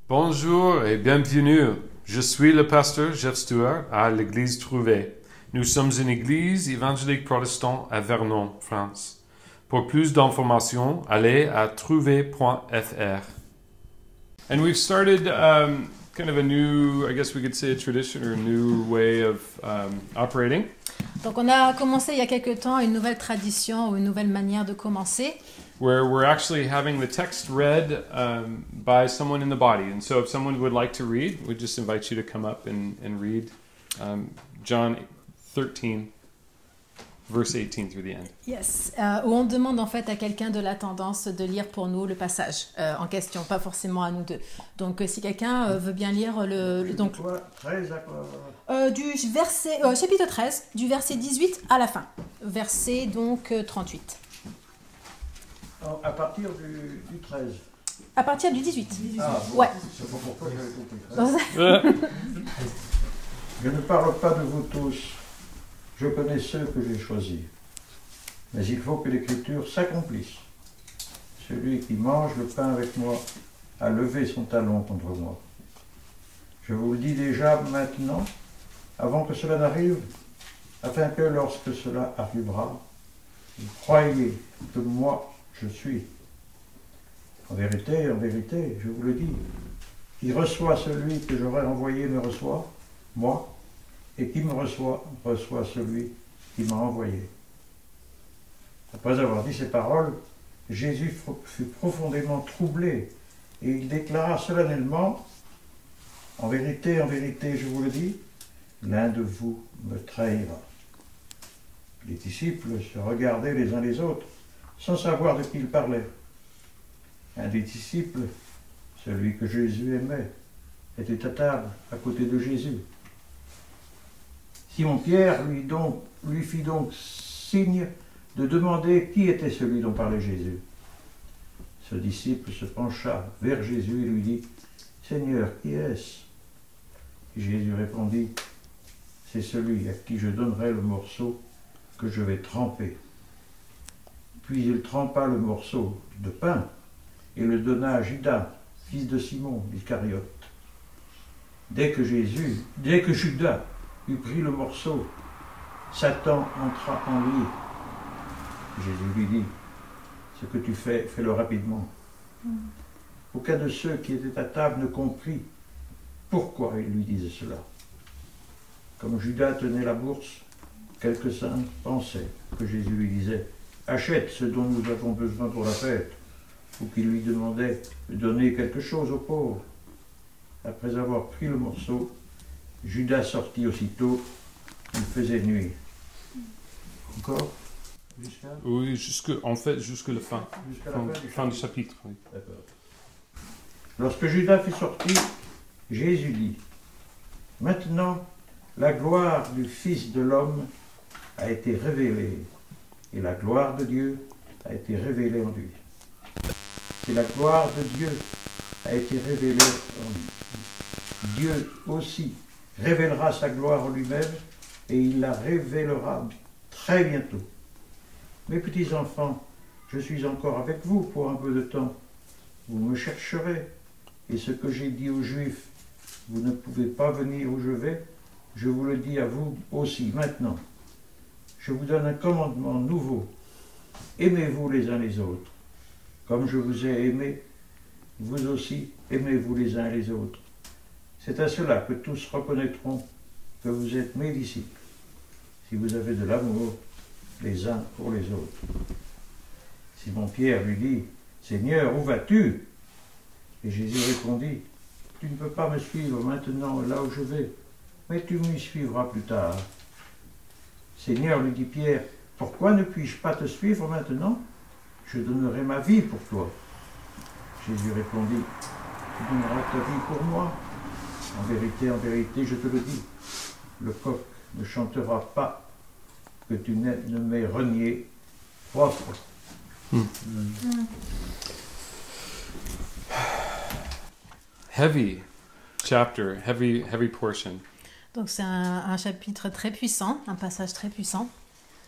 Bonjour et bienvenue. Je suis le pasteur Jeff Stewart à l'église Trouvé. Nous sommes une église évangélique protestante à Vernon, France. Pour plus d'informations, allez à trouvé.fr. And we've started kind of a new, I guess we could say a tradition or a new way of operating. Donc on a commencé il y a quelque temps une nouvelle tradition ou une nouvelle manière de commencer. Where we're actually having the text read by someone in the body. And so if someone would like to read, we just invite you to come up and read John 13, verse 18 through the end. Yes, où on demande en fait à quelqu'un de la tendance de lire pour nous le passage en question, pas forcément à nous deux. Donc si quelqu'un veut bien lire donc, du verset, chapitre 13, du verset 18 à la fin, verset donc 38. À partir du 13. À partir du 18. Ah, bon, ouais. c'est pas pourquoi j'avais compris. Je ne parle pas de vous tous. Je connais ceux que j'ai choisis. Mais il faut que l'Écriture s'accomplisse. Celui qui mange le pain avec moi a levé son talon contre moi. Je vous le dis déjà maintenant, avant que cela n'arrive, afin que lorsque cela arrivera, vous croyiez que moi, je suis. En vérité, je vous le dis, qui reçoit celui que j'aurai envoyé me reçoit, moi, et qui me reçoit, reçoit celui qui m'a envoyé. Après avoir dit ces paroles, Jésus fut profondément troublé, et il déclara solennellement, en vérité, je vous le dis, l'un de vous me trahira. Les disciples se regardaient les uns les autres, sans savoir de qui il parlait. Un des disciples, celui que Jésus aimait, était à table à côté de Jésus. Simon-Pierre lui fit donc signe de demander qui était celui dont parlait Jésus. Ce disciple se pencha vers Jésus et lui dit « Seigneur, qui est-ce » Jésus répondit « C'est celui à qui je donnerai le morceau que je vais tremper. » Puis il trempa le morceau de pain et le donna à Judas, fils de Simon Iscariote. Dès que Judas eut pris le morceau, Satan entra en lui. Jésus lui dit, ce que tu fais, fais-le rapidement. Aucun de ceux qui étaient à table ne comprit pourquoi il lui disait cela. Comme Judas tenait la bourse, quelques-uns pensaient que Jésus lui disait « Achète ce dont nous avons besoin pour la fête », ou qu'il lui demandait de donner quelque chose aux pauvres. Après avoir pris le morceau, Judas sortit aussitôt, il faisait nuit. Encore Oui, jusque la fin. Jusqu'à la fin du chapitre. Oui. D'accord. Lorsque Judas fut sorti, Jésus dit « Maintenant, la gloire du Fils de l'homme a été révélée, et la gloire de Dieu a été révélée en lui. Et la gloire de Dieu a été révélée en lui. Dieu aussi révélera sa gloire en lui-même, et il la révélera très bientôt. Mes petits enfants, je suis encore avec vous pour un peu de temps. Vous me chercherez, et ce que j'ai dit aux Juifs, vous ne pouvez pas venir où je vais, je vous le dis à vous aussi maintenant. Je vous donne un commandement nouveau. Aimez-vous les uns les autres. Comme je vous ai aimé, vous aussi aimez-vous les uns les autres. C'est à cela que tous reconnaîtront que vous êtes mes disciples, si vous avez de l'amour les uns pour les autres. Simon-Pierre lui dit, « Seigneur, où vas-tu » Et Jésus répondit, « Tu ne peux pas me suivre maintenant là où je vais, mais tu m'y suivras plus tard. » Seigneur, lui dit Pierre, « Pourquoi ne puis-je pas te suivre maintenant ? Je donnerai ma vie pour toi. » Jésus répondit, « Tu donneras ta vie pour moi. En vérité, je te le dis, le coq ne chantera pas que tu ne m'aies renié 3 fois. » Heavy chapter, heavy portion. Donc c'est un chapitre très puissant, un passage très puissant,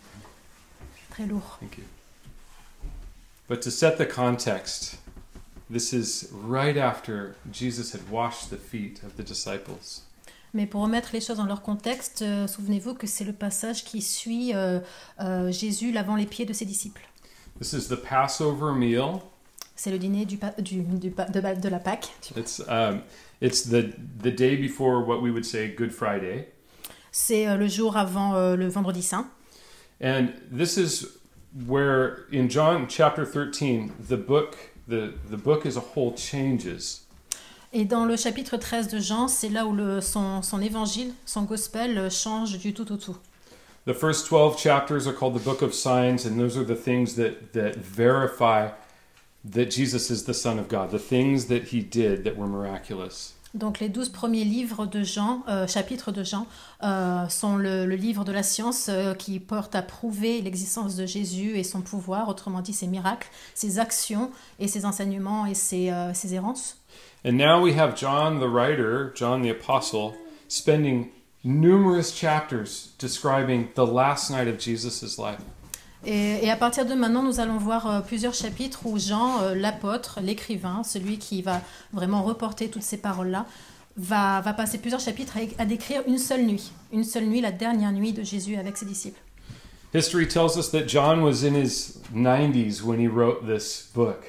très lourd. Thank you. But to set the context, this is right after Jesus had washed the feet of the disciples. Mais pour remettre les choses dans leur contexte, souvenez-vous que c'est le passage qui suit Jésus lavant les pieds de ses disciples. This is the Passover meal. C'est le dîner de la Pâque. It's the day before what we would say Good Friday. C'est le jour avant le Vendredi Saint. And this is where in John chapter 13 the book as a whole changes. Et dans le chapitre 13 de Jean, c'est là où son évangile, son gospel change du tout au tout. The first 12 chapters are called the Book of Signs, and those are the things that verify that Jesus is the Son of God, the things that he did that were miraculous. Donc les 12 premiers livres de Jean, chapitres de Jean, sont le livre de la science qui porte à prouver l'existence de Jésus et son pouvoir, autrement dit ses miracles, ses actions et ses enseignements et ses errances. And now we have John the writer, John the apostle, spending numerous chapters describing the last night of Jesus' life. Et à partir de maintenant, nous allons voir plusieurs chapitres où Jean, l'apôtre, l'écrivain, celui qui va vraiment reporter toutes ces paroles-là, va passer plusieurs chapitres à décrire une seule nuit, la dernière nuit de Jésus avec ses disciples. History tells us that John was in his 90s when he wrote this book.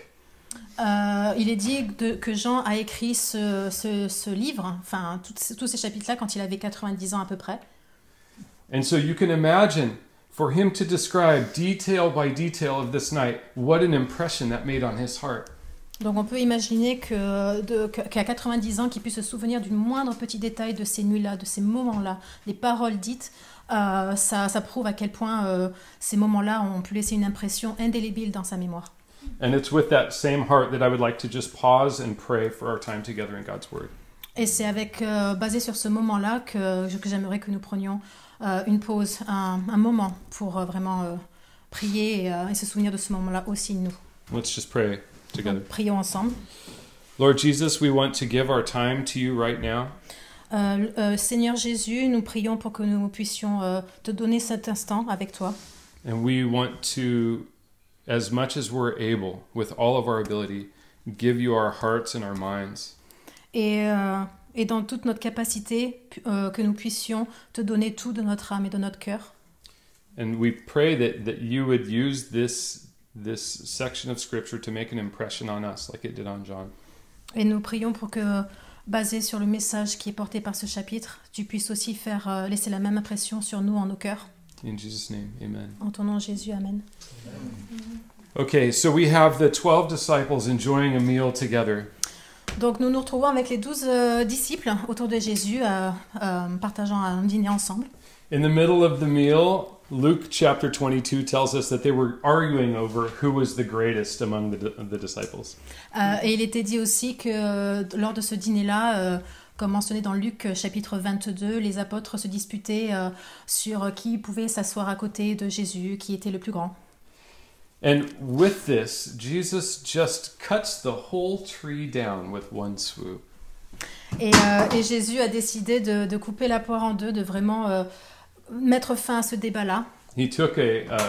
Il est dit que Jean a écrit ce livre, enfin tous ces chapitres-là, quand il avait 90 ans à peu près. And so you can imagine, for him to describe detail by detail of this night, what an impression that made on his heart. Donc on peut imaginer qu'à 90 ans, qu'il puisse se souvenir du moindre petit détail de ces nuits-là, de ces moments-là, des paroles dites, ça prouve à quel point ces moments-là ont pu laisser une impression indélébile dans sa mémoire. And it's with that same heart that I would like to just pause and pray for our time together in God's Word. Et c'est basé sur ce moment-là que j'aimerais que nous prenions une pause, un moment pour vraiment prier et se souvenir de ce moment-là aussi nous. Let's just pray together. Prions ensemble. Lord Jesus, we want to give our time to you right now. Seigneur Jésus, nous prions pour que nous puissions te donner cet instant avec toi. And we want to, as much as we're able, with all of our ability, give you our hearts and our minds. Et dans toute notre capacité, que nous puissions te donner tout de notre âme et de notre cœur. And we pray that you would use this section of Scripture to make an impression on us, like it did on John. Et nous prions pour que, basé sur le message qui est porté par ce chapitre, tu puisses aussi laisser la même impression sur nous en nos cœurs. In Jesus' name, amen. En ton nom, Jésus, amen. Okay, so we have the 12 disciples enjoying a meal together. Donc nous nous retrouvons avec les 12 disciples autour de Jésus, partageant un dîner ensemble. In the middle of the meal, Luke chapter 22 tells us that they were arguing over who was the greatest among the disciples. Et il était dit aussi que lors de ce dîner-là, comme mentionné dans Luc chapitre 22, les apôtres se disputaient sur qui pouvait s'asseoir à côté de Jésus, qui était le plus grand. And with this, Jesus just cuts the whole tree down with one swoop. Et Jésus a décidé de couper la poire en deux, de vraiment mettre fin à ce débat-là. He took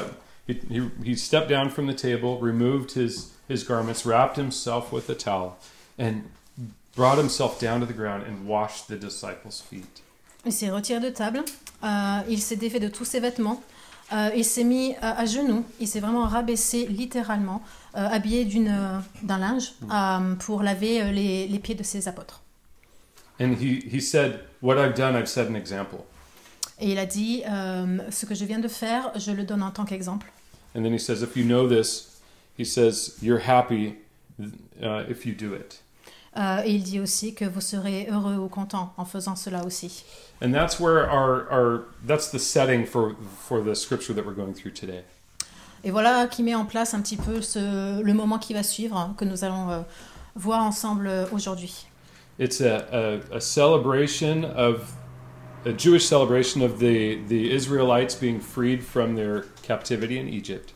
he stepped down from the table, removed his garments, wrapped himself with a towel, and brought himself down to the ground and washed the disciples' feet. Il s'est retiré de table, il s'est défait de tous ses vêtements, il s'est mis à genoux, il s'est vraiment rabaissé littéralement, habillé d'un linge pour laver les pieds de ses apôtres. And he said, "What I've done, I've set an example." Et il a dit, ce que je viens de faire, je le donne en tant qu'exemple. And then he says, if you know this, he says, you're happy if you do it. Et il dit aussi que vous serez heureux ou content en faisant cela aussi. And that's where that's the setting for the scripture that we're going through today. Et voilà qui met en place un petit peu le moment qui va suivre, que nous allons voir ensemble aujourd'hui. It's a celebration of a Jewish celebration of the Israelites being freed from their captivity in Egypt.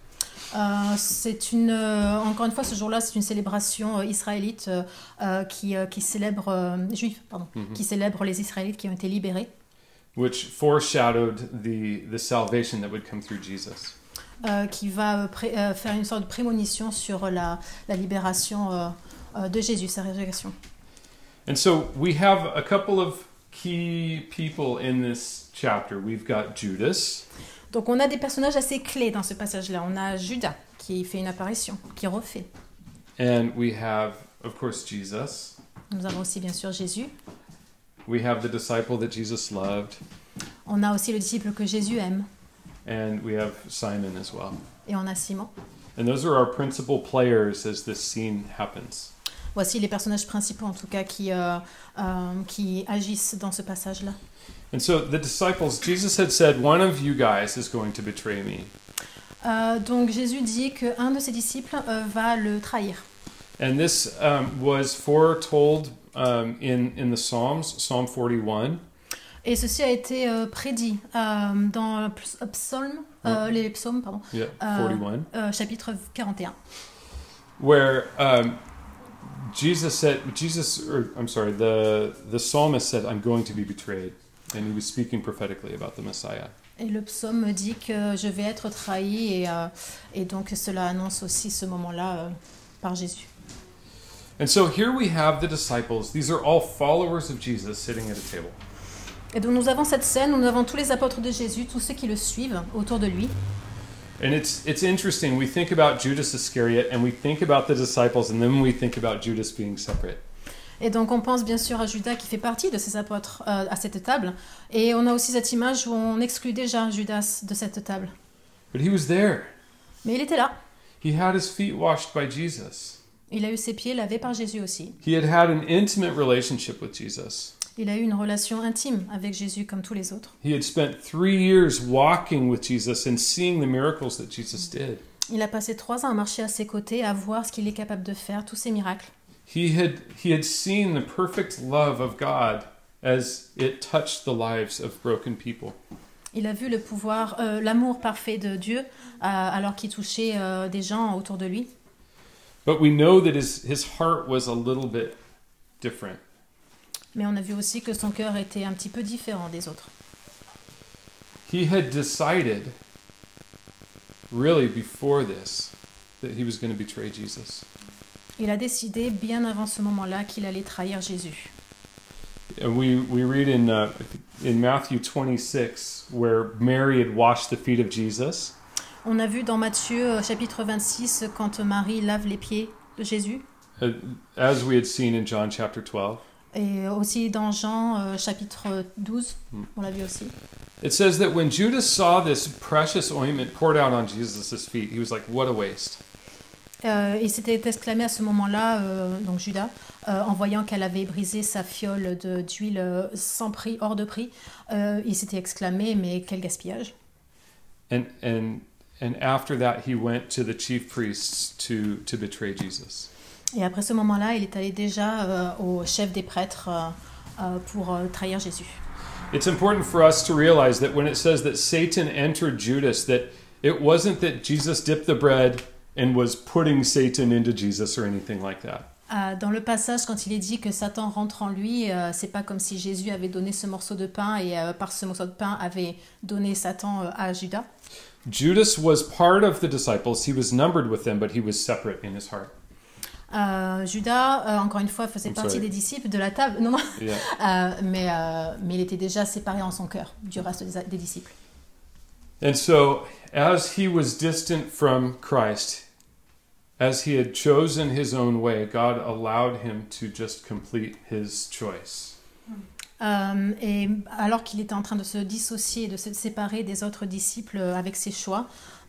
Encore une fois, ce jour-là, c'est une célébration israélite qui célèbre qui célèbre les Israélites qui ont été libérés. Which foreshadowed the salvation that would come through Jesus. Qui va faire une sorte de prémonition sur la libération de Jésus, sa résurrection. And so we have a couple of key people in this chapter. We've got Judas. Donc on a des personnages assez clés dans ce passage-là. On a Judas qui fait une apparition, qui refait. And we have, of course, Jesus. Nous avons aussi bien sûr Jésus. We have the disciple that Jesus loved. On a aussi le disciple que Jésus aime. And we have Simon as well. Et on a Simon. And those are our principal players as this scene happens. Voici les personnages principaux en tout cas qui agissent dans ce passage-là. And so the disciples, Jesus had said, one of you guys is going to betray me. Donc Jésus dit qu'un de ses disciples va le trahir. And this was foretold in the Psalms, Psalm 41. Et ceci a été prédit dans les psaumes, pardon, Yeah, 41. Chapitre 41. Where the psalmist said, I'm going to be betrayed. And he was speaking prophetically about the Messiah. Et le psaume dit que je vais être trahi et donc cela annonce aussi ce moment-là par Jésus. And so here we have the disciples. These are all followers of Jesus sitting at a table. Et donc nous avons cette scène où nous avons tous les apôtres de Jésus, tous ceux qui le suivent autour de lui. And it's interesting. We think about Judas Iscariot and we think about the disciples and then we think about Judas being separate. Et donc on pense bien sûr à Judas qui fait partie de ces apôtres à cette table. Et on a aussi cette image où on exclut déjà Judas de cette table. But he was there. Mais il était là. He had his feet washed by Jesus. Il a eu ses pieds lavés par Jésus aussi. He had had an intimate relationship with Jesus. Il a eu une relation intime avec Jésus comme tous les autres. He had spent 3 years walking with Jesus and seeing the miracles that Jesus did. Il a passé 3 ans à marcher à ses côtés, à voir ce qu'il est capable de faire, tous ces miracles. He had seen the perfect love of God as it touched the lives of broken people. Il a vu le pouvoir, l'amour parfait de Dieu alors qu'il touchait des gens autour de lui. But we know that his heart was a little bit different. Mais on a vu aussi que son cœur était un petit peu différent des autres. He had decided, really before this, that he was going to betray Jesus. Il a décidé bien avant ce moment-là qu'il allait trahir Jésus. And we read in Matthew 26 where Mary had washed the feet of Jesus. On a vu dans Matthieu chapitre 26 quand Marie lave les pieds de Jésus. As we had seen in John chapter 12. Et aussi dans Jean chapitre 12, on l'a vu aussi. It says that when Judas saw this precious ointment poured out on Jesus' feet, he was like, what a waste. Il s'était exclamé à ce moment-là, donc Judas, en voyant qu'elle avait brisé sa fiole d'huile sans prix, hors de prix, il s'était exclamé, mais quel gaspillage. And after that, he went to the chief priests to betray Jesus. Et après ce moment-là, il est allé déjà au chef des prêtres pour trahir Jésus. It's important for us to realize that when it says that Satan entered Judas, that it wasn't that Jesus dipped the bread and was putting Satan into Jesus or anything like that. Dans le passage, quand il est dit que Satan rentre en lui, c'est pas comme si Jésus avait donné ce morceau de pain et par ce morceau de pain avait donné Satan à Judas. Judas was part of the disciples. He was numbered with them, but he was separate in his heart. Judas, encore une fois, faisait partie des disciples de la table. Non, non. Yeah. Mais il était déjà séparé en son cœur du reste des disciples. And so, as he was distant from Christ, as he had chosen his own way, God allowed him to just complete his choice. Et alors qu'il était en train de se dissocier, de se séparer des autres disciples avec ses choix,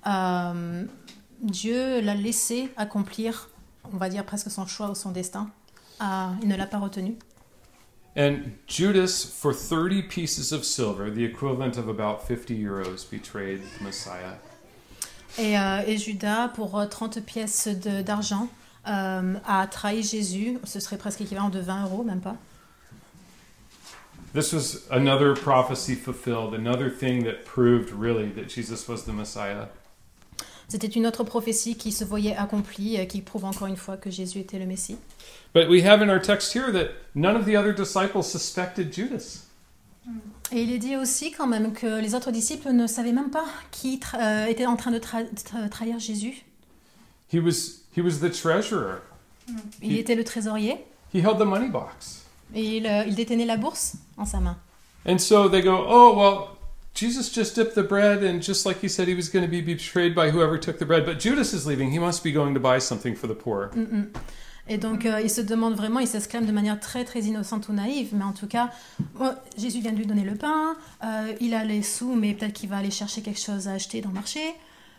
Dieu l'a laissé accomplir, on va dire presque son choix ou son destin. Il ne l'a pas retenu. And Judas, for 30 pieces of silver, the equivalent of about 50 euros, betrayed the Messiah. Et Judas, pour 30 pièces d'argent, a trahi Jésus. Ce serait presque équivalent de 20 euros, même pas. This was another prophecy fulfilled, another thing that proved really that Jesus was the Messiah. C'était une autre prophétie qui se voyait accomplie, qui prouve encore une fois que Jésus était le Messie. But we have in our text here that none of the other disciples suspected Judas. Et il est dit aussi quand même que les autres disciples ne savaient même pas qui était en train de trahir Jésus. He was the treasurer. Il était le trésorier. He held the money box. Et il détenait la bourse en sa main. And so they go, oh, well, Jesus just dipped the bread, and just like he said he was going to be betrayed by whoever took the bread, but Judas is leaving. He must be going to buy something for the poor. Et donc, il se demande vraiment, il s'exclame de manière très, très innocente ou naïve, mais en tout cas, Jésus vient de lui donner le pain, il a les sous, mais peut-être qu'il va aller chercher quelque chose à acheter dans le marché.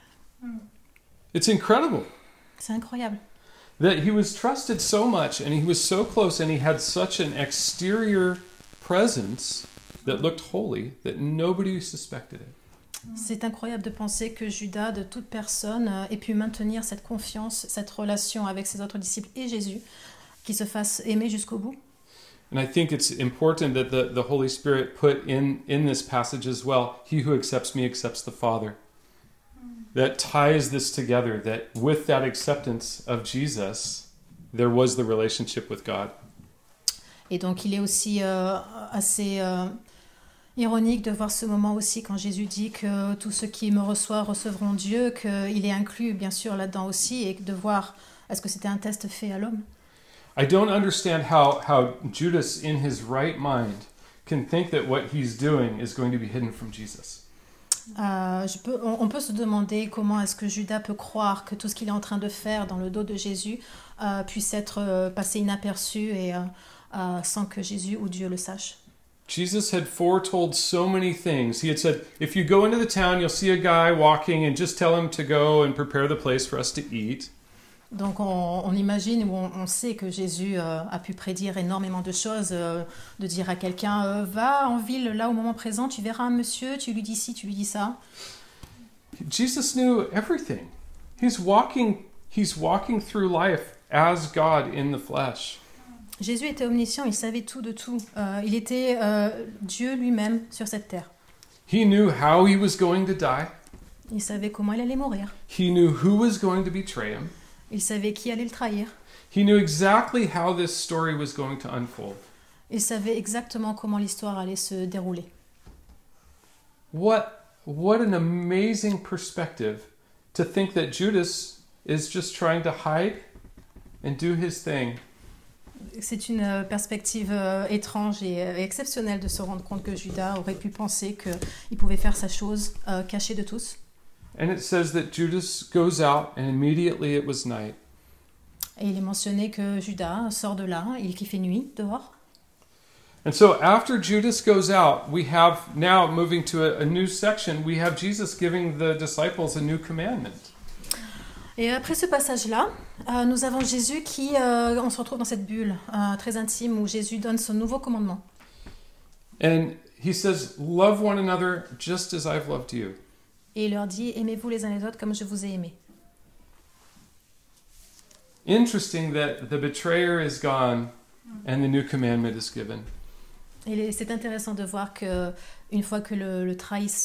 It's incredible. C'est incroyable. That he was trusted so much, and he was so close, and he had such an exterior presence that looked holy, that nobody suspected it. C'est incroyable de penser que Judas, de toute personne, ait pu maintenir cette confiance, cette relation avec ses autres disciples et Jésus, qui se fasse aimer jusqu'au bout. And I think it's important that the Holy Spirit put in this passage as well, he who accepts me accepts the Father. That ties this together, that with that acceptance of Jesus, there was the relationship with God. Et donc il est aussi assez ironique de voir ce moment aussi quand Jésus dit que tous ceux qui me reçoivent recevront Dieu, qu'il est inclus bien sûr là-dedans aussi, et de voir est-ce que c'était un test fait à l'homme. I don't understand how Judas in his right mind can think that what he's doing is going to be hidden from Jesus. On peut se demander comment est-ce que Judas peut croire que tout ce qu'il est en train de faire dans le dos de Jésus puisse être passé inaperçu et sans que Jésus ou Dieu le sache. Jesus had foretold so many things. He had said, if you go into the town, you'll see a guy walking, and just tell him to go and prepare the place for us to eat. Donc on imagine ou on sait que Jésus a pu prédire énormément de choses, de dire à quelqu'un va en ville là au moment présent, tu verras un monsieur, tu lui dis ci, tu lui dis ça. Jesus knew everything. He's walking through life as God in the flesh. Jésus était omniscient, il savait tout de tout. Il était Dieu lui-même sur cette terre. He knew how he was going to die. Il savait comment il allait mourir. He knew who was going to betray him. Il savait qui allait le trahir. He knew exactly how this story was going to unfold. Il savait exactement comment l'histoire allait se dérouler. What an amazing perspective to think that Judas is just trying to hide and do his thing. C'est une perspective étrange et exceptionnelle de se rendre compte que Judas aurait pu penser qu'il pouvait faire sa chose cachée de tous. And it says that Judas goes out and immediately it was night. Et il est mentionné que Judas sort de là et qu'il fait nuit dehors. And so after Judas goes out, we have now moving to a new section, we have Jesus giving the disciples a new commandment. Et après ce passage-là, nous avons Jésus qui, on se retrouve dans cette bulle très intime où Jésus donne son nouveau commandement. And he says, love one another just as I've loved you. Et il leur dit, aimez-vous les uns les autres comme je vous ai aimés. Interesting that the betrayer is gone and the new commandment is given. Et c'est intéressant de voir que une fois que le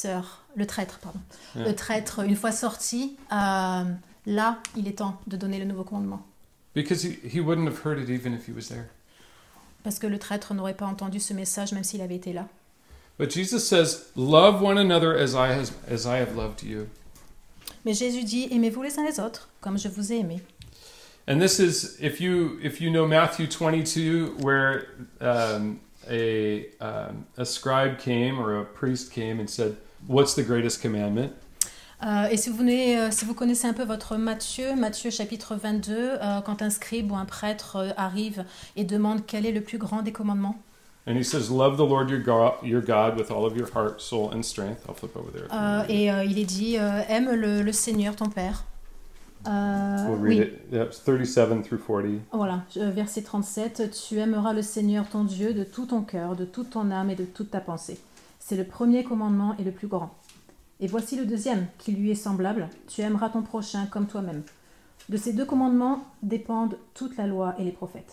traître, une fois sorti, là, il est temps de donner le nouveau commandement. Because he wouldn't have heard it even if he was there. Parce que le traître n'aurait pas entendu ce message même s'il avait été là. But Jesus says, love one another as I have loved you. Mais Jésus dit, aimez-vous les uns les autres, comme je vous ai aimés. And this is, if you know Matthew 22, where a scribe came or a priest came and said, what's the greatest commandment? Et si vous connaissez un peu votre Matthieu chapitre 22, quand un scribe ou un prêtre arrive et demande quel est le plus grand des commandements. And he says, love the Lord your God with all of your heart, soul and strength. I'll flip over there. Il est dit, aime le Seigneur ton Père. We'll read it. Yep, 37 through 40. Voilà, verset 37. Tu aimeras le Seigneur ton Dieu de tout ton cœur, de toute ton âme et de toute ta pensée. C'est le premier commandement et le plus grand. Et voici le deuxième, qui lui est semblable. Tu aimeras ton prochain comme toi-même. De ces deux commandements dépendent toute la loi et les prophètes.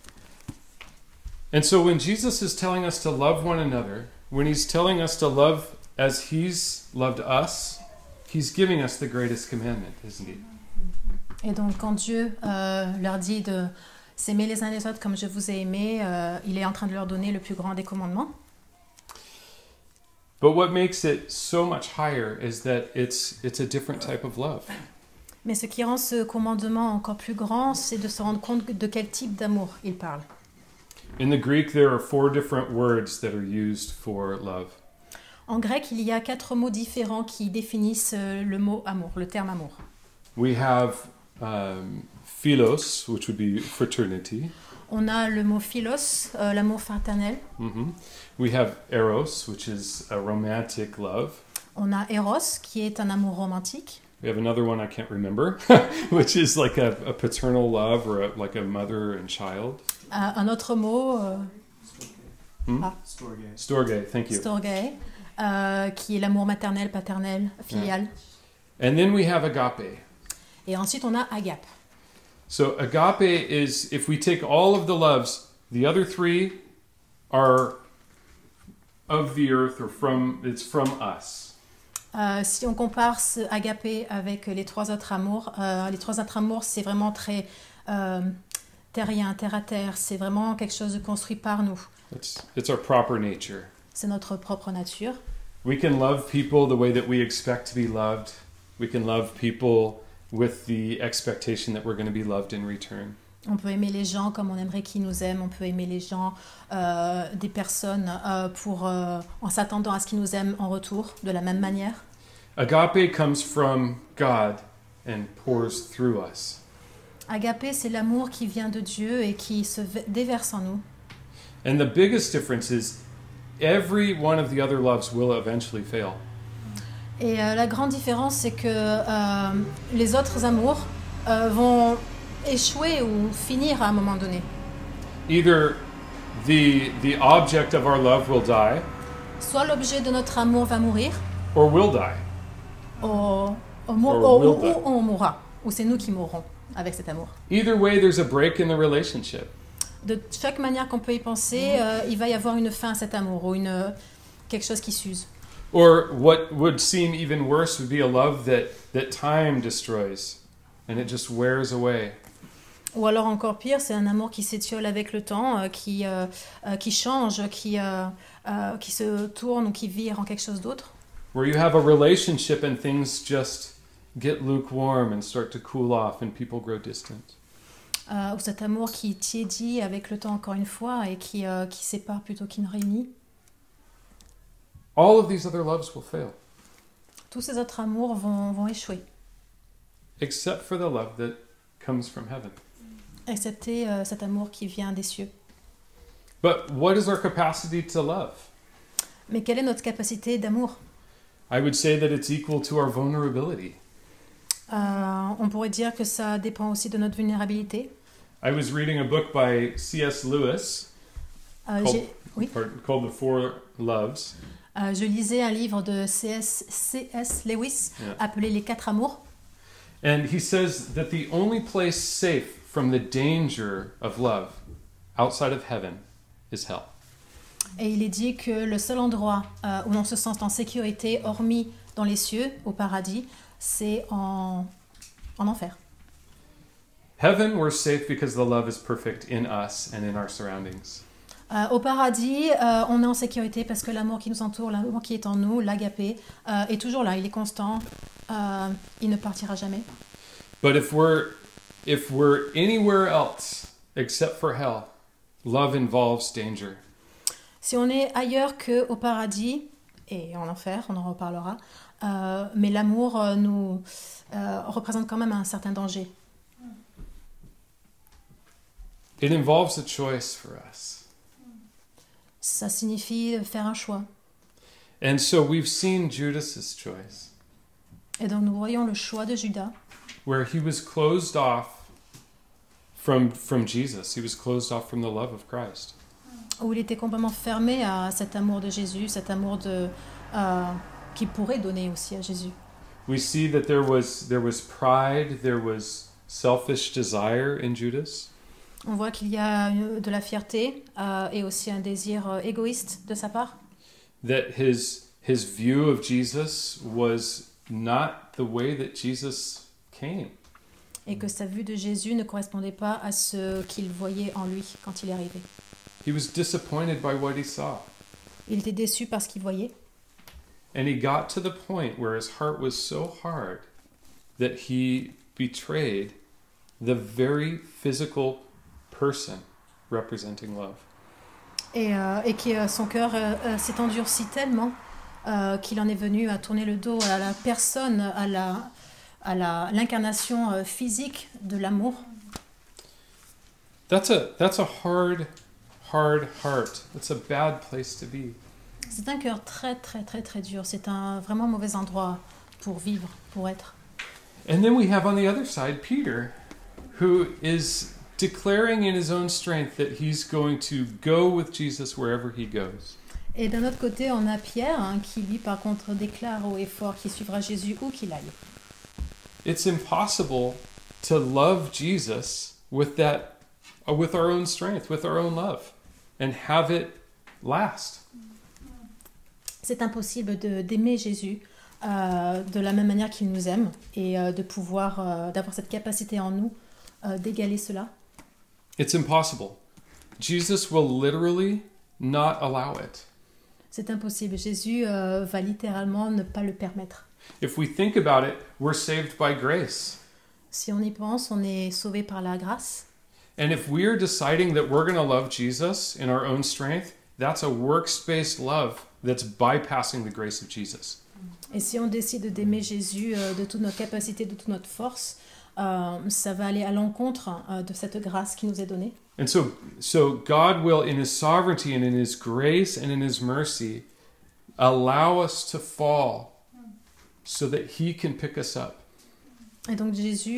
And so when Jesus is telling us to love one another, when he's telling us to love as he's loved us, he's giving us the greatest commandment, isn't he? Et donc quand Dieu leur dit de s'aimer les uns les autres comme je vous ai aimé, il est en train de leur donner le plus grand des commandements. But what makes it so much higher is that it's a different type of love. Mais ce qui rend ce commandement encore plus grand, c'est de se rendre compte de quel type d'amour il parle. In the Greek, there are 4 different words that are used for love. En grec, il y a 4 mots différents qui définissent le mot amour, le terme amour. We have philos, which would be fraternity. On a le mot philos, l'amour fraternel. We have eros, which is a romantic love. On a eros, qui est un amour romantique. We have another one I can't remember, which is like a paternal love or like a mother and child. Un autre mot, Storge, thank you. storge, qui est l'amour maternel, paternel, filial. And then we have agape. Et ensuite, on a agape. So agape is, if we take all of the loves, the other 3 are of the earth or it's from us. Si on compare ce agapé avec les 3 autres amours, c'est vraiment très terrien, terre à terre. C'est vraiment quelque chose de construit par nous. It's our proper nature. C'est notre propre nature. We can love people the way that we expect to be loved. We can love people with the expectation that we're going to be loved in return. On peut aimer les gens comme on aimerait qu'ils nous aiment. On peut aimer les gens, des personnes, en s'attendant à ce qu'ils nous aiment en retour, de la même manière. Agape comes from God and pours through us. Agapé, c'est l'amour qui vient de Dieu et qui se déverse en nous. And the biggest difference is every one of the other loves will eventually fail. Et la grande différence, c'est que les autres amours vont échouer ou finir à un moment donné. Either the object of our love will die, Soit l'objet de notre amour va mourir, or will die. ou on mourra, ou c'est nous qui mourrons avec cet amour. Either way, there's a break in the relationship. De chaque manière qu'on peut y penser, il va y avoir une fin à cet amour, ou quelque chose qui s'use. Or what would seem even worse would be a love that time destroys, and it just wears away. Ou alors encore pire, c'est un amour qui s'étiole avec le temps, qui change, qui se tourne ou qui vire en quelque chose d'autre. Where you have a relationship and things just get lukewarm and start to cool off and people grow distant. Ou cet amour qui tiédit avec le temps encore une fois et qui sépare plutôt qu'il ne réunit. All of these other loves will fail. Tous ces autres amours vont échouer, Except for the love that comes from heaven. excepté cet amour qui vient des cieux. But what is our capacity to love? Mais quelle est notre capacité d'amour? I would say that it's equal to our vulnerability. On pourrait dire que ça dépend aussi de notre vulnérabilité. I was reading a book by C.S. Lewis called The Four Loves. Je lisais un livre de C.S. Lewis appelé Les 4 amours. And he says that the only place safe from the danger of love outside of heaven is hell. Et il est dit que le seul endroit où on se sent en sécurité, hormis dans les cieux, au paradis, c'est en enfer. Heaven, we're safe because the love is perfect in us and in our surroundings. Au paradis, on est en sécurité parce que l'amour qui nous entoure, l'amour qui est en nous, l'agapé, est toujours là, il est constant, il ne partira jamais. But if we're anywhere else except for hell, love involves danger. Si on est ailleurs qu'au paradis et en enfer, on en reparlera, mais l'amour nous représente quand même un certain danger. It involves a choice for us. Ça signifie faire un choix. And so we've seen Judas's choice, Et donc nous voyons le choix de Judas, where he was closed off from Jesus. He was closed off from the love of Christ. où il était complètement fermé à cet amour de Jésus, cet amour qu'il pourrait donner aussi à Jésus. We see that there was pride, there was selfish desire in Judas. On voit qu'il y a de la fierté et aussi un désir égoïste de sa part. That his view of Jesus was not the way that Jesus came. Et que sa vue de Jésus ne correspondait pas à ce qu'il voyait en lui quand il est arrivé. He was disappointed by what he saw. Il était déçu par ce qu'il voyait. And he got to the point where his heart was so hard that he betrayed the very physical person representing love. Et que son cœur s'est endurci tellement qu'il en est venu à tourner le dos à la personne, à l'incarnation physique de l'amour. That's a hard heart. That's a bad place to be. C'est un cœur très très très très dur. C'est un vraiment mauvais endroit pour vivre, pour être. And then we have on the other side Peter, who is declaring in his own strength that he's going to go with Jesus wherever he goes. Et d'un autre côté, on a Pierre qui lui par contre déclare haut et fort qu'il suivra Jésus où qu'il aille. It's impossible to love Jesus with our own strength, with our own love, and have it last. C'est impossible d'aimer Jésus de la même manière qu'il nous aime et de pouvoir d'avoir cette capacité en nous d'égaler cela. It's impossible. Jesus will literally not allow it. C'est impossible. Jésus va littéralement ne pas le permettre. If we think about it, we're saved by grace. Si on y pense, on est sauvé par la grâce. And if we're deciding that we're going to love Jesus in our own strength, that's a works-based love that's bypassing the grace of Jesus. Et si on décide d'aimer Jésus de toute notre capacité, de toute notre force, ça va aller à l'encontre de cette grâce qui nous est donnée. And so God will, in His sovereignty and in His grace and in His mercy, allow us to fall so that He can pick us up. Et donc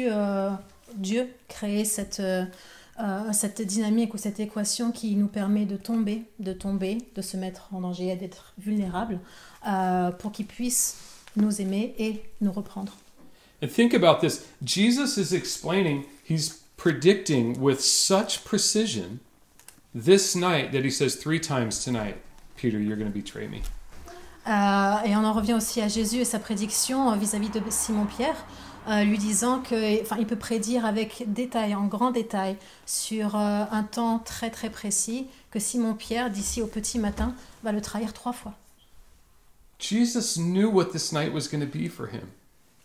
Dieu crée cette dynamique ou cette équation qui nous permet de tomber, de se mettre en danger et d'être vulnérables pour qu'il puisse nous aimer et nous reprendre. And think about this. Jesus is explaining, he's predicting with such precision this night that he says 3 times tonight, Peter, you're going to betray me. Et on en revient aussi à Jésus et sa prédiction vis-à-vis de Simon-Pierre, lui disant qu'il peut prédire avec détail, en grand détail, sur un temps très très précis, que Simon-Pierre, d'ici au petit matin, va le trahir 3 fois. Jesus knew what this night was going to be for him.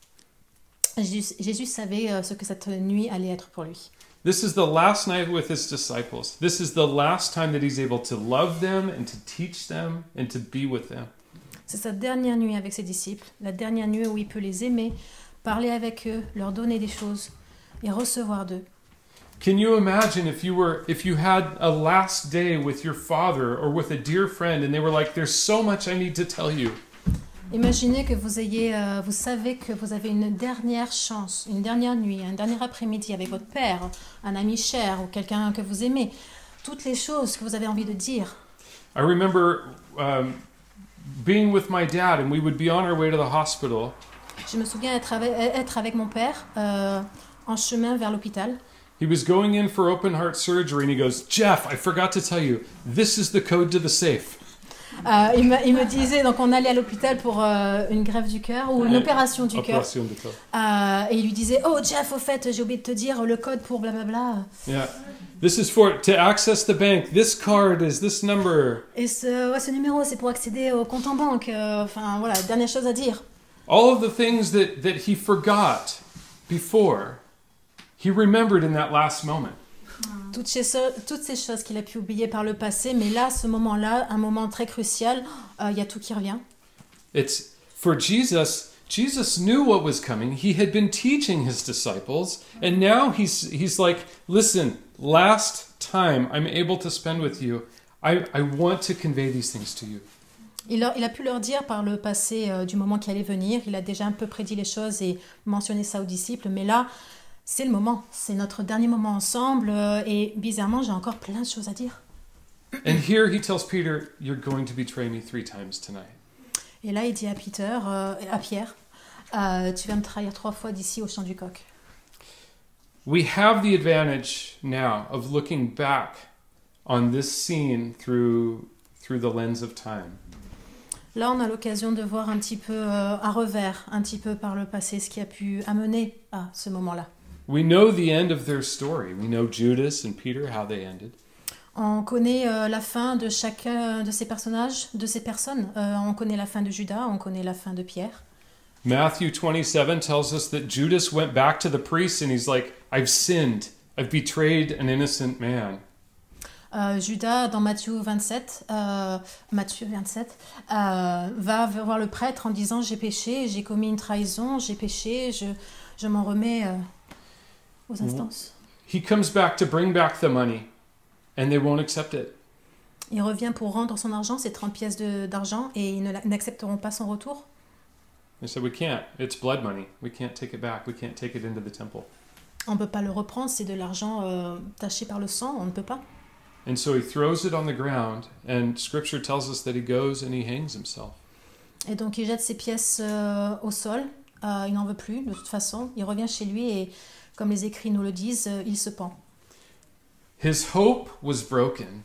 Jésus savait ce que cette nuit allait être pour lui. This is the last night with his disciples. This is the last time that he's able to love them and to teach them and to be with them. C'est sa dernière nuit avec ses disciples, la dernière nuit où il peut les aimer, parler avec eux, leur donner des choses et recevoir d'eux. Can you imagine if you had a last day with your father or with a dear friend and they were like, there's so much I need to tell you. Imaginez que vous savez que vous avez une dernière chance, une dernière nuit, un dernier après-midi avec votre père, un ami cher ou quelqu'un que vous aimez. Toutes les choses que vous avez envie de dire. I remember being with my dad and we would be on our way to the hospital. Je me souviens être avec mon père en chemin vers l'hôpital. He was going in for open heart surgery and he goes, Jeff, I forgot to tell you, this is the code to the safe. Il me disait, donc on allait à l'hôpital pour une greffe du cœur ou une opération du cœur. Et il lui disait, oh Jeff, au fait, j'ai oublié de te dire le code pour blablabla. Yeah. This is to access the bank. This card is this number. Et ce numéro, c'est pour accéder au compte en banque. Enfin voilà, dernière chose à dire. All of the things that he forgot before, he remembered in that last moment. Toutes ces choses qu'il a pu oublier par le passé, mais là, ce moment-là, un moment très crucial, il y a tout qui revient. It's for Jesus. Jesus knew what was coming. He had been teaching his disciples, and now he's like, listen, last time I'm able to spend with you, I want to convey these things to you. Il a pu leur dire par le passé du moment qui allait venir. Il a déjà un peu prédit les choses et mentionné ça aux disciples, mais là, c'est le moment, c'est notre dernier moment ensemble et bizarrement, j'ai encore plein de choses à dire. And here he tells Peter, you're going to betray me 3 times tonight. Et là, il dit à Pierre, tu vas me trahir 3 fois d'ici au chant du coq. We have the advantage now of looking back on this scene through the lens of time. Là, on a l'occasion de voir un petit peu à revers, un petit peu par le passé, ce qui a pu amener à ce moment-là. We know the end of their story. We know Judas and Peter, how they ended. On connaît la fin de chacun de ces personnages, de ces personnes. On connaît la fin de Judas, on connaît la fin de Pierre. Matthew 27 tells us that Judas went back to the priest and he's like, I've sinned. I've betrayed an innocent man. Judas, dans Matthieu 27, va voir le prêtre en disant « J'ai péché, j'ai commis une trahison, j'ai péché, je m'en remets aux instances. » He comes back to bring back the money and they won't accept it. Il revient pour rendre son argent, ses 30 pièces d'argent, et ils n'accepteront pas son retour. They said, we can't. It's blood money. We can't take it back. We can't take it into the temple. On ne peut pas le reprendre, c'est de l'argent taché par le sang, on ne peut pas. And so he throws it on the ground, and Scripture tells us that he goes and he hangs himself. Et donc il jette ses pièces au sol, il n'en veut plus de toute façon, il revient chez lui et comme les écrits nous le disent, il se pend. His hope was broken.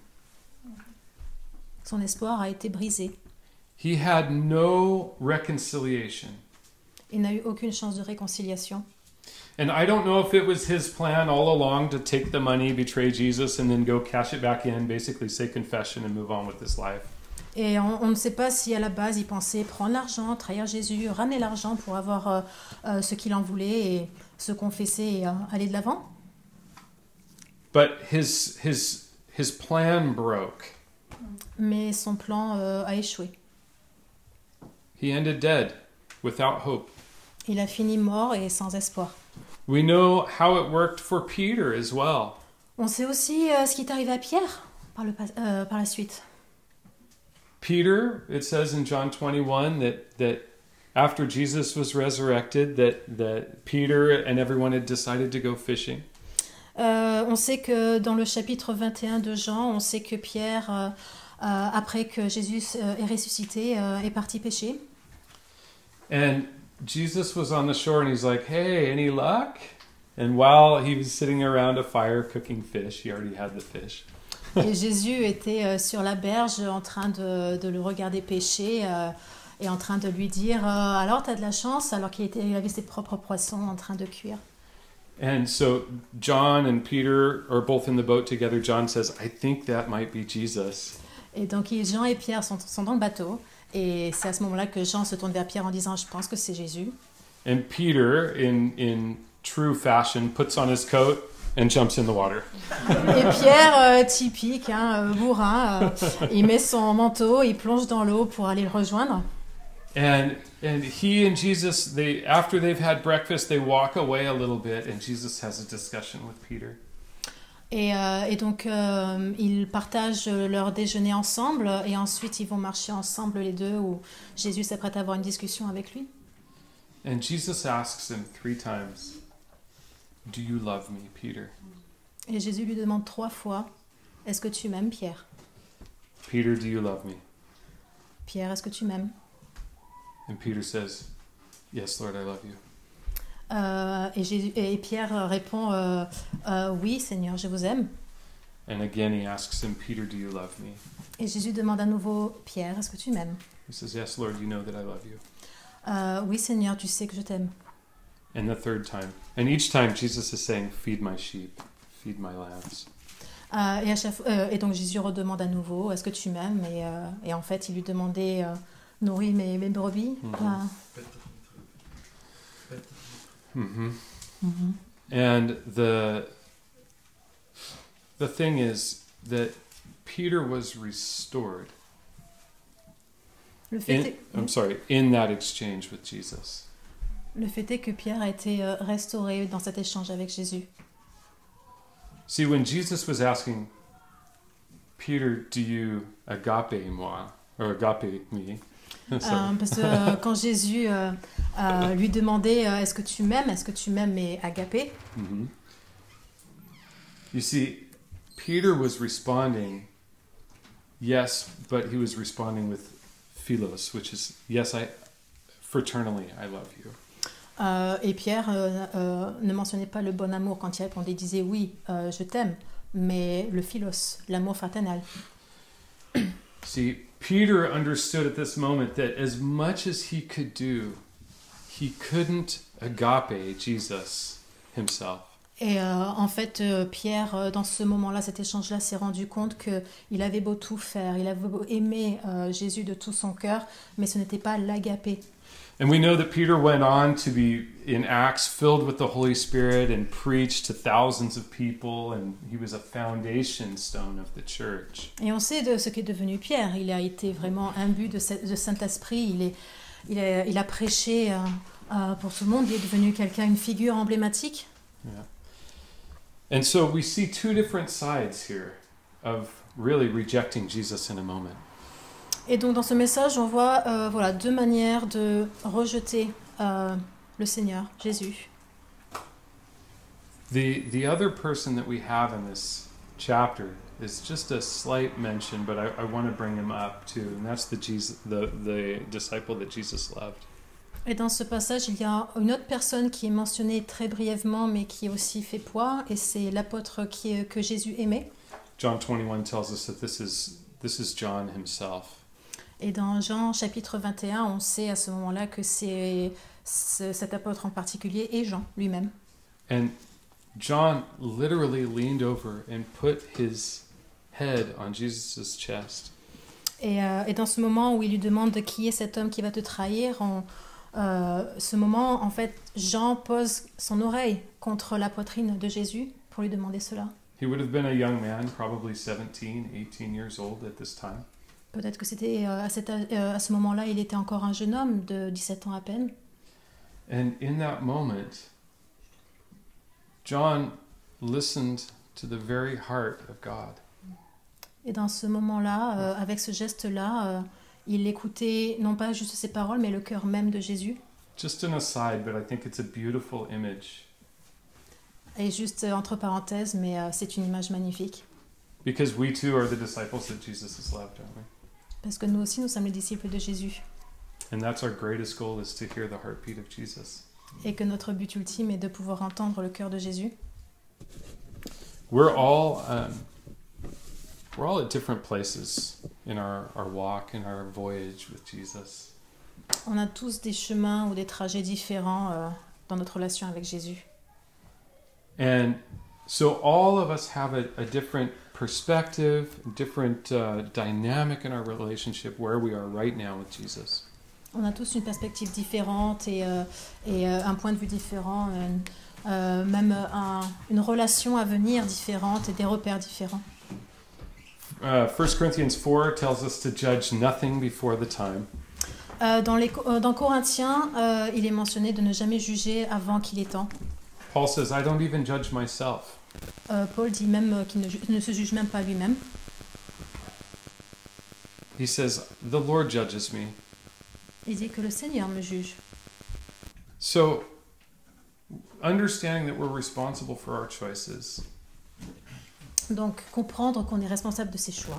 Son espoir a été brisé. He had no reconciliation. Il n'a eu aucune chance de réconciliation. And I don't know if it was his plan all along to take the money, betray Jesus, and then go cash it back in, basically say confession and move on with his life. Et on ne sait pas si à la base il pensait prendre l'argent, trahir Jésus, ramener l'argent pour avoir ce qu'il en voulait et se confesser et aller de l'avant. But his plan broke. Mais son plan a échoué. He ended dead, without hope. Il a fini mort et sans espoir. We know how it worked for Peter as well. On sait aussi ce qui est arrivé à Pierre par la suite. Peter, it says in John 21 that after Jesus was resurrected, that Peter and everyone had decided to go fishing. On sait que dans le chapitre 21 de Jean, on sait que Pierre, après que Jésus est ressuscité, est parti pêcher. And Jesus was on the shore and he's like, hey, any luck? And while he was sitting around a fire cooking fish, he already had the fish. Et Jésus était sur la berge en train de le regarder pêcher et en train de lui dire alors t'as de la chance, alors qu'il avait ses propres poissons en train de cuire. And so John and Peter are both in the boat together. John says, I think that might be Jesus. Et donc Jean et Pierre sont dans le bateau. Et c'est à ce moment-là que Jean se tourne vers Pierre en disant « Je pense que c'est Jésus ». And Peter, in true fashion, puts on his coat and jumps in the water. Et Pierre, typique, bourrin, il met son manteau, il plonge dans l'eau pour aller le rejoindre. And he and Jesus, after they've had breakfast, they walk away a little bit, and Jesus has a discussion with Peter. Et donc, ils partagent leur déjeuner ensemble et ensuite ils vont marcher ensemble les deux où Jésus s'apprête à avoir une discussion avec lui. And Jesus asks him 3 times, do you love me, Peter? Et Jésus lui demande 3 fois, est-ce que tu m'aimes, Pierre? Peter, do you love me? Pierre, est-ce que tu m'aimes? And Peter says, yes, Lord, I love you. Et Pierre répond oui, Seigneur, je vous aime. And again he asks him, Peter, do you love me? Et Jésus demande à nouveau, Pierre, est-ce que tu m'aimes? He says, yes, Lord, you know that I love you. Oui, Seigneur, tu sais que je t'aime. And the 3rd time. And each time Jesus is saying, feed my sheep, feed my lambs. Et donc Jésus redemande à nouveau, est-ce que tu m'aimes? Et en fait, il lui demandait, nourris mes brebis. Mm-hmm. Mm-hmm. And the thing is that Peter was restored in that exchange with Jesus. Le fait est que Pierre a été restauré dans cet échange avec Jésus. See, when Jesus was asking Peter, do you agape moi, or agape me? Parce que quand Jésus lui demandait est-ce que tu m'aimes mais agapé. Mm-hmm. You see, Peter was responding yes, but he was responding with philos, which is yes, fraternally I love you. Et Pierre ne mentionnait pas le bon amour quand il répondait, il disait oui, je t'aime, mais le philos, l'amour fraternel. See, Peter understood at this moment that as much as he could do, he couldn't agape Jesus himself. Et en fait, Pierre, dans ce moment-là, cet échange-là, s'est rendu compte qu'il avait beau tout faire, il avait beau aimer Jésus de tout son cœur, mais ce n'était pas l'agapé. And we know that Peter went on to be, in Acts, filled with the Holy Spirit and preached to thousands of people, and he was a foundation stone of the church. Et on sait de ce qu'est devenu Pierre. Il a été vraiment imbu de Saint-Esprit. Il a prêché pour tout le monde. Il est devenu quelqu'un, une figure emblématique. Yeah. And so we see two different sides here of really rejecting Jesus in a moment. Et donc dans ce message, on voit voilà, deux manières de rejeter le Seigneur, Jésus. The other person that we have in this chapter is just a slight mention, but I want to bring him up too, and that's the disciple that Jesus loved. Et dans ce passage, il y a une autre personne qui est mentionnée très brièvement, mais qui aussi fait poids, et c'est l'apôtre que Jésus aimait. John 21 tells us that this is John himself. Et dans Jean chapitre 21, on sait à ce moment-là que cet apôtre en particulier est Jean lui-même. And John literally leaned over and put his head on Jesus' chest. Et dans ce moment où il lui demande qui est cet homme qui va te trahir, ce moment, en fait, Jean pose son oreille contre la poitrine de Jésus pour lui demander cela. He would have been a young man, probably 17, 18 years old at this time. Peut-être que c'était à ce moment-là, il était encore un jeune homme de 17 ans à peine. And in that moment, John listened to the very heart of God. Et dans ce moment-là, avec ce geste-là, il écoutait non pas juste ses paroles, mais le cœur même de Jésus. Just an aside, but I think it's a beautiful image. Et juste entre parenthèses, mais c'est une image magnifique. Because we too are the disciples that Jesus has loved, aren't we? Parce que nous aussi, nous sommes les disciples de Jésus. And that's our greatest goal, is to hear the heartbeat of Jesus. Et que notre but ultime est de pouvoir entendre le cœur de Jésus. We're all at different places in our walk, in our voyage with Jesus. On a tous des chemins ou des trajets différents dans notre relation avec Jésus. And so all of us have a different perspective, different dynamic in our relationship where we are right now with Jesus. On a tous une perspective différente et un point de vue différent, même une relation à venir différente et des repères différents. 1 Corinthians 4 tells us to judge nothing before the time. Dans Corinthiens, il est mentionné de ne jamais juger avant qu'il est temps. Paul says, I don't even judge myself. Paul dit même qu'il ne se juge même pas lui-même. He says, the Lord judges me. Il dit que le Seigneur me juge. So, understanding that we're responsible for our choices. Donc, comprendre qu'on est responsable de ses choix.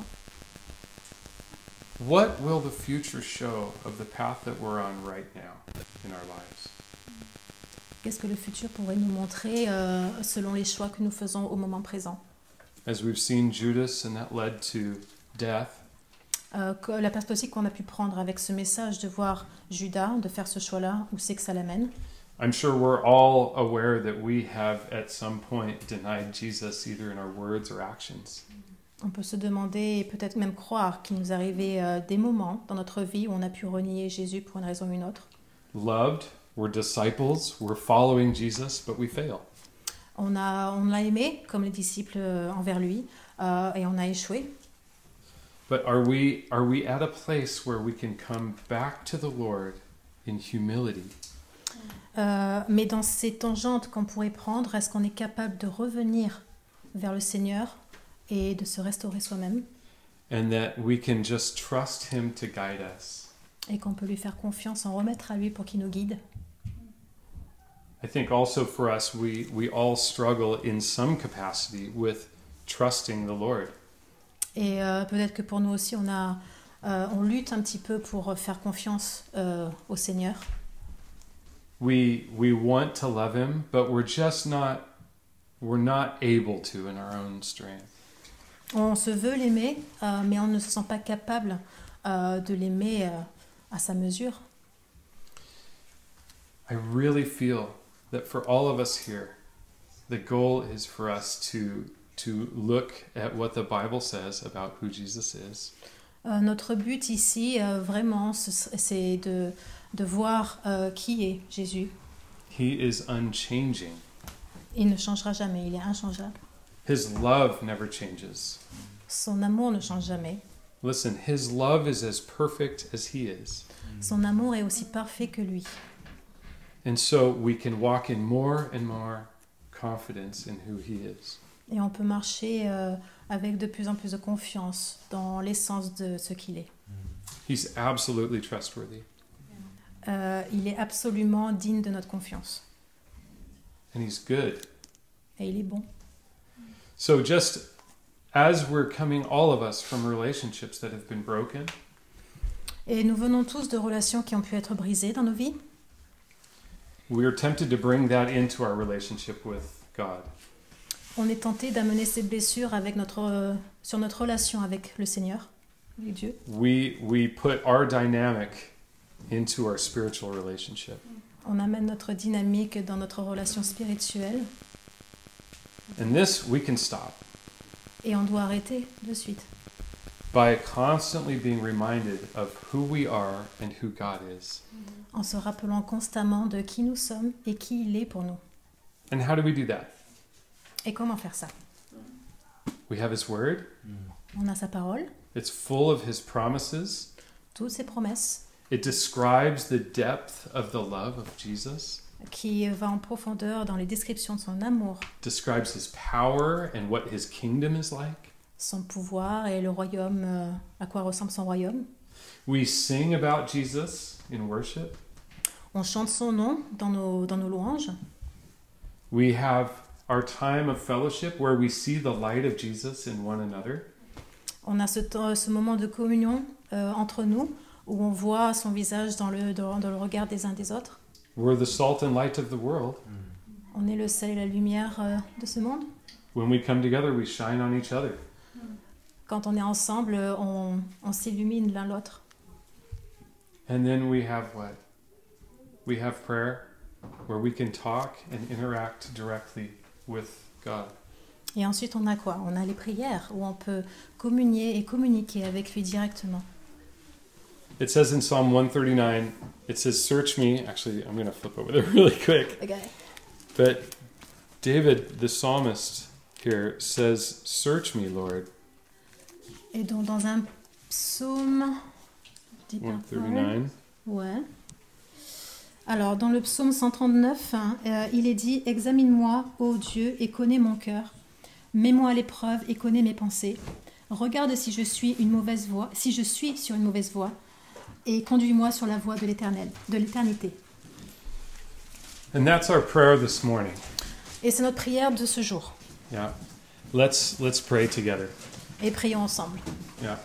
What will the future show of the path that we're on right now in our lives? Qu'est-ce que le futur pourrait nous montrer selon les choix que nous faisons au moment présent? As we've seen Judas, and that led to death. La perspective qu'on a pu prendre avec ce message de voir Judas, de faire ce choix-là, où c'est que ça l'amène? I'm sure we're all aware that we have at some point denied Jesus either in our words or actions. On peut se demander et peut-être même croire qu'il nous arrivait des moments dans notre vie où on a pu renier Jésus pour une raison ou une autre. Loved, we're disciples, we're following Jesus, but we fail. On l'a aimé comme les disciples envers lui et on a échoué. But are we at a place where we can come back to the Lord in humility? Mais dans ces tangentes qu'on pourrait prendre, est-ce qu'on est capable de revenir vers le Seigneur et de se restaurer soi-même? And that we can just trust Him to guide us. Et qu'on peut lui faire confiance, en remettre à lui pour qu'il nous guide. I think also for us, we all struggle in some capacity with trusting the Lord. Et peut-être que pour nous aussi, on lutte un petit peu pour faire confiance au Seigneur. We want to love Him, but we're not able to in our own strength. On se veut l'aimer, mais on ne se sent pas capable de l'aimer à sa mesure. I really feel that for all of us here, The goal is for us to look at what the Bible says about who Jesus is. Notre but ici, vraiment, c'est de voir qui est Jésus. He is unchanging. Il ne changera jamais, il est inchangeable. His love never changes. Son amour ne change jamais. Listen, his love is as perfect as he is. Son amour est aussi parfait que lui. And so we can walk in more and more confidence in who he is. Et on peut marcher avec de plus en plus de confiance dans l'essence de ce qu'il est. He's absolutely trustworthy. Il est absolument digne de notre confiance. And he's good. Et il est bon. So just as we're coming, all of us, from relationships that have been broken, Et nous venons tous de relations qui ont pu être brisées dans nos vies. we are tempted to bring that into our relationship with God. On est tenté d'amener ces blessures sur notre relation avec le Seigneur, avec Dieu. We put our dynamic into our spiritual relationship. On amène notre dynamique dans notre relation spirituelle And this we can stop et on doit arrêter de suite by constantly being reminded of who we are and who God is. en se rappelant constamment de qui nous sommes et qui il est pour nous. And how do we do that? Et comment faire ça? We have his word. On a sa parole, It's full of his promises. toutes ses promesses, It describes the depth of the love of Jesus. qui va en profondeur dans les descriptions de son amour, Describes his power and what his kingdom is like. son pouvoir et le royaume, à quoi ressemble son royaume. We sing about Jesus in worship. On chante son nom dans nos louanges. We have our time of fellowship where we see the light of Jesus in one another. On a ce moment de communion entre nous où on voit son visage dans le regard des uns des autres. We're the salt and light of the world. On est le sel et la lumière de ce monde. When we come together, we shine on each other. Quand on est ensemble, on s'illumine l'un l'autre. And then we have what? We have prayer where we can talk and interact directly with God. Et ensuite, on a quoi? On a les prières où on peut communier et communiquer avec lui directement. It says in Psalm 139, it says, search me. Actually, I'm going to flip over there really quick. Okay. But David, the psalmist here, says, search me, Lord. Et donc, dans un psaume... 139. Ouais. Alors, dans le psaume 139, il est dit « Examine-moi, ô Dieu, et connais mon cœur. Mets-moi à l'épreuve et connais mes pensées. Regarde si je suis sur une mauvaise voie, et conduis-moi sur la voie de l'éternité. » And that's our prayer this morning. Et c'est notre prière de ce jour. Yeah. Let's pray together. Et prions ensemble. Yeah.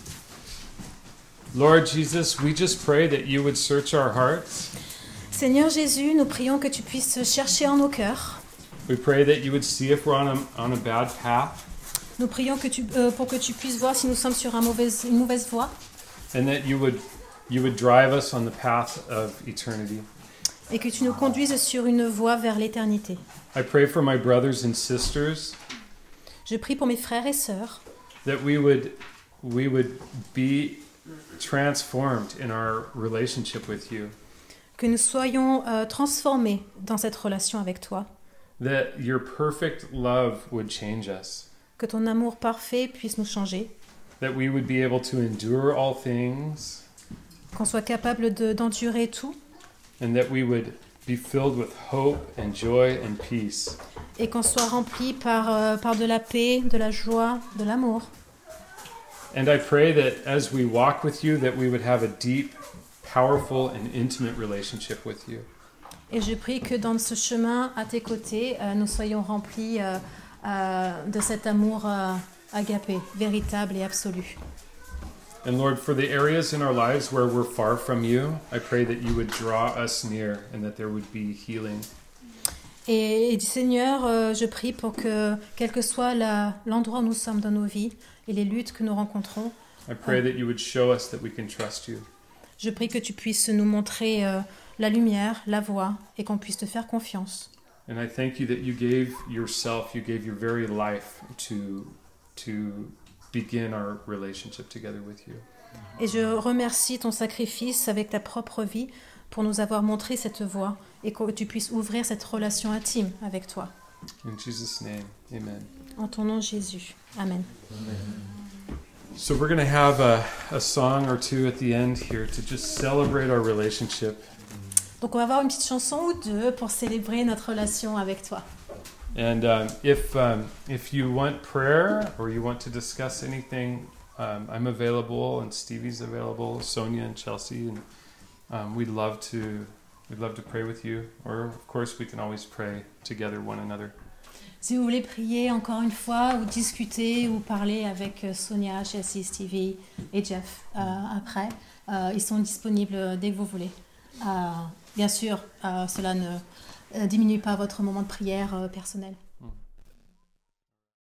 Lord Jesus, we just pray that you would search our hearts. Seigneur Jésus, nous prions que tu puisses chercher en nos cœurs. We pray that you would see if we're on a bad path. Nous prions pour que tu puisses voir si nous sommes sur une mauvaise voie. And that you would drive us on the path of eternity. Et que tu nous conduises sur une voie vers l'éternité. I pray for my brothers and sisters. Je prie pour mes frères et sœurs. That we would be transformed in our relationship with you. Que nous soyons transformés dans cette relation avec toi. That your perfect love would change us. Que ton amour parfait puisse nous changer. That we would be able to endure all things. Qu'on soit capable d'endurer tout. And that we would be filled with hope and joy and peace. Et qu'on soit rempli par de la paix, de la joie, de l'amour. And I pray that as we walk with you, that we would have a deep, powerful and intimate relationship with you. Et je prie que dans ce chemin à tes côtés, nous soyons remplis de cet amour agapé, véritable et absolu. And Lord, for the areas in our lives where we're far from you, I pray that you would draw us near and that there would be healing. Et Seigneur, je prie pour que, quel que soit l'endroit où nous sommes dans nos vies et les luttes que nous rencontrons, I pray that you would show us that we can trust you. Je prie que tu puisses nous montrer la lumière, la voie, et qu'on puisse te faire confiance. And I thank you that you gave yourself, you gave your very life to begin our relationship together with you. Et je remercie ton sacrifice avec ta propre vie pour nous avoir montré cette voie et que tu puisses ouvrir cette relation intime avec toi. In Jesus' name, amen. En ton nom, Jésus. Amen. So we're going to have a song or two at the end here to just celebrate our relationship. Donc on va avoir une petite chanson ou deux pour célébrer notre relation avec toi. And if you want prayer or you want to discuss anything, I'm available and Stevie's available, Sonia and Chelsea, and we'd love to pray with you. Or of course we can always pray together one another. Si vous voulez prier encore une fois ou discuter ou parler avec Sonia, Chelsea, Stevie et Jeff après, ils sont disponibles dès que vous voulez. Bien sûr, cela ne diminue pas votre moment de prière personnel.